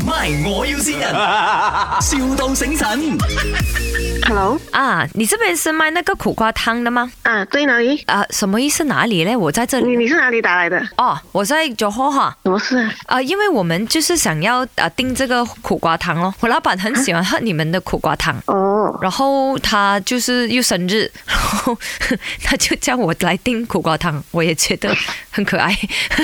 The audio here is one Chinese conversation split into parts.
My 我要先人，,笑到醒神。 Hello， 啊，你这边是卖那个苦瓜汤的吗？ 啊，对，哪里？ 什么意思？哪里嘞？我在这里。 你是哪里打来的？ 哦，我在johor哈。 什么事啊？ 因为我们就是想要订这个苦瓜汤哦，我老板很喜欢喝你们的苦瓜汤。 哦， 然后他就是又生日，然后他就叫我来订苦瓜汤，我也觉得很可爱。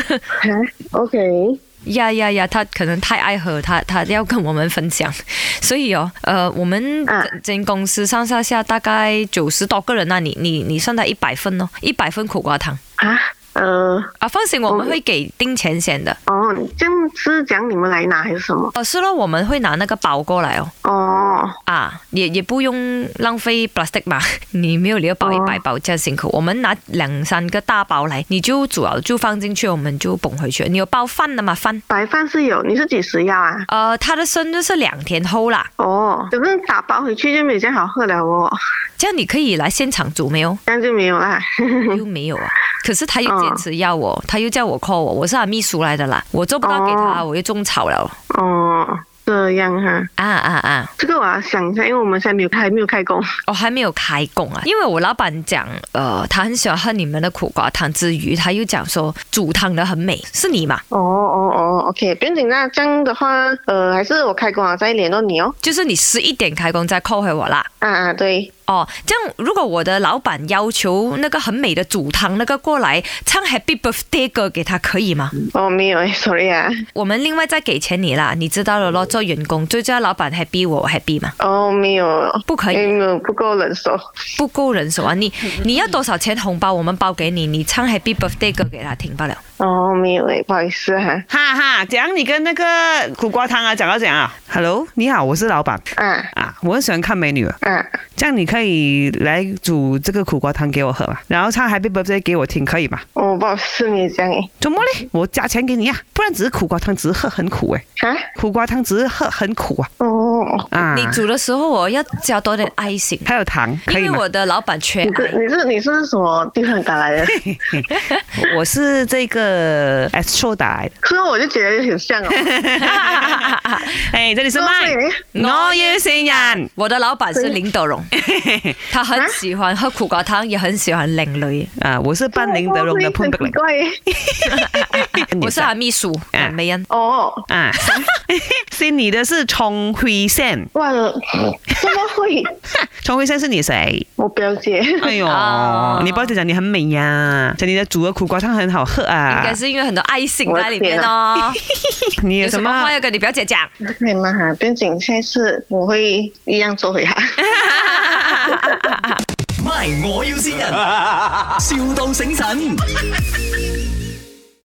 OK。 呀，他可能太爱喝，他要跟我们分享，所以我们整公司上下大概90多个人啊，你算他100份哦，100份苦瓜汤放心，我们会给定钱先的。 哦，这样是讲你们来拿还是什么？ 是咯，我们会拿那个包过来哦。 哦， 也不用浪费 plastic 嘛，你没有理由包100包这样辛苦。我们拿2-3个大包来，你就煮了就放进去，我们就捧回去。你有包饭的吗？饭？ 白饭是有，你是几时要啊？ 他的生日是2天后啦。 哦，可是打包回去就没有这样好喝了哦。 这样你可以来现场煮没有？ 这样就没有啦。 又没有啊？可是他又坚持要我，他又叫我 call 我，我是他秘书来的啦，我做不到给他，我又种草了。 哦，这样哈。这个我要想一下，因为我们现在还没有开工。 还没有开工啊？因为我老板讲，他很喜欢喝你们的苦瓜汤之余，他又讲说煮汤的很美，是你嘛 ？OK， 不用紧，那这样的话，还是我开工了再联络你哦。 就是你11点开工再 call 回我啦。 对。 这样如果我的老板要求那个很美的煮汤那个过来唱 Happy Birthday 歌给他，可以吗？ 没有，sorry 啊。我们另外再给钱你啦，你知道了咯，做员工最重要老板 happy 我 happy 嘛。 没有， 不可以， 没有，不够人手。 不够人手啊！你要多少钱红包我们包给你，你唱 Happy Birthday 歌给他听罢了。 没有不好意思哈，讲你跟那个苦瓜汤讲到怎样啊 ？Hello， 你好，我是老板。我很喜欢看美女。这样你可以来煮这个苦瓜汤给我喝嘛，然后唱 Happy Birthday 给我听，可以吗？ 不好意思，你这样怎么嘞？我加钱给你啊，不然只是苦瓜汤只是喝很苦苦瓜汤只是喝很苦你煮的时候我要加多点爱心， 还有糖，可以吗？ 因为我的老板缺爱。 你是什么地方打来的？ 我是这个 Astro 打来的， 所以我就觉得很像哦。 这里是麦，我要先人。 我的老板是林德荣，他很喜欢喝苦瓜汤，也很喜欢靓女。 我是扮林德荣的潘碧玲。 我是他秘书美恩。 姓你的是钟慧仙。 哇，怎么会？ 钟慧仙是你谁？ 我表姐。 哎呦，你表姐讲你很美呀，讲你的煮的苦瓜汤很好喝啊。 应该是因为很多爱心在里面哦。 你有什么话要跟你表姐讲？ 可以吗？不用紧，下次我会一样做回她。 My 我要先人，笑到醒神。